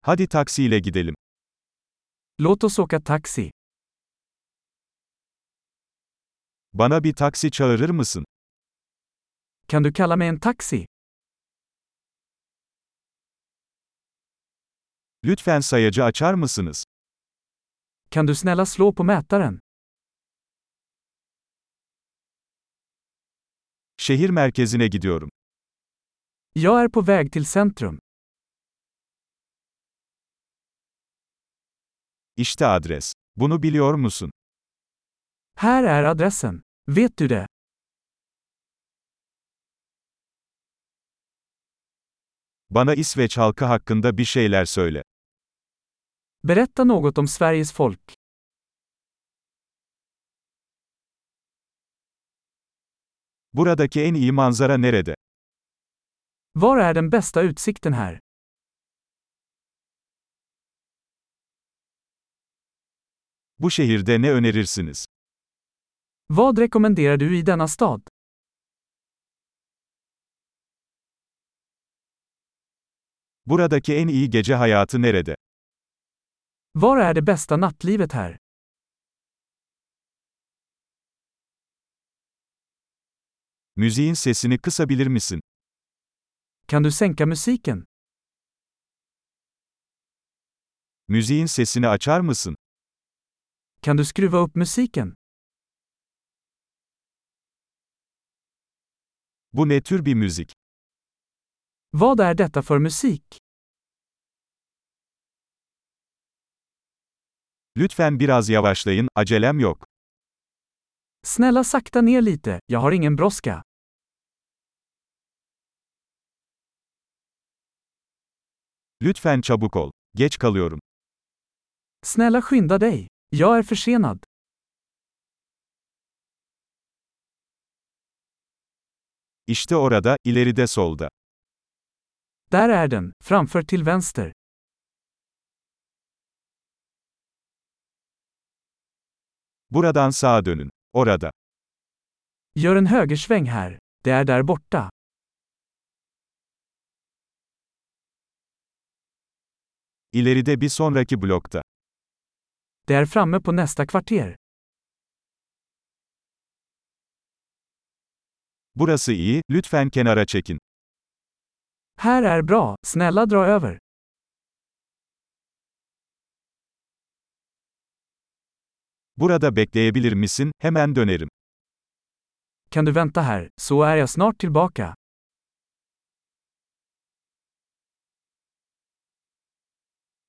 Hadi taksiyle gidelim. Låt oss åka taxi. Bana bir taksi çağırır mısın? Kan du kalla mig en taxi? Lütfen sayacı açar mısınız? Kan du snälla slå på mätaren? Şehir merkezine gidiyorum. Jag är på väg till centrum. İşte adres. Bunu biliyor musun? Här är adressen. Vet du det? Bana İsveç halkı hakkında bir şeyler söyle. Berätta något om Sveriges folk. Buradaki en iyi manzara nerede? Var är den bästa utsikten här? Bu şehirde ne önerirsiniz? Vad rekommenderar du i denna stad? Buradaki en iyi gece hayatı nerede? Var är det bästa nattlivet här? Müziğin sesini kısabilir misin? Kan du sänka musiken? Müziğin sesini açar mısın? Kan du skruva upp musiken? Bu ne tür bir müzik? Vad är detta för musik? Lütfen biraz yavaşlayın, acelem yok. Snälla sakta ner lite, jag har ingen brådska. Lütfen çabuk ol. Geç kalıyorum. Snälla skynda dig. Jag är försenad. İşte orada, ileride solda. Där är den, framför till vänster. Buradan sağa dönün. Orada. Gör en högersväng här. Det är där borta. İleride bir sonraki blokta. Det är framme på nästa kvarter. Burası iyi, lütfen kenara çekin. Här är bra, snälla dra över. Burada bekleyebilir misin? Hemen dönerim. Kan du vänta här, så är jag snart tillbaka.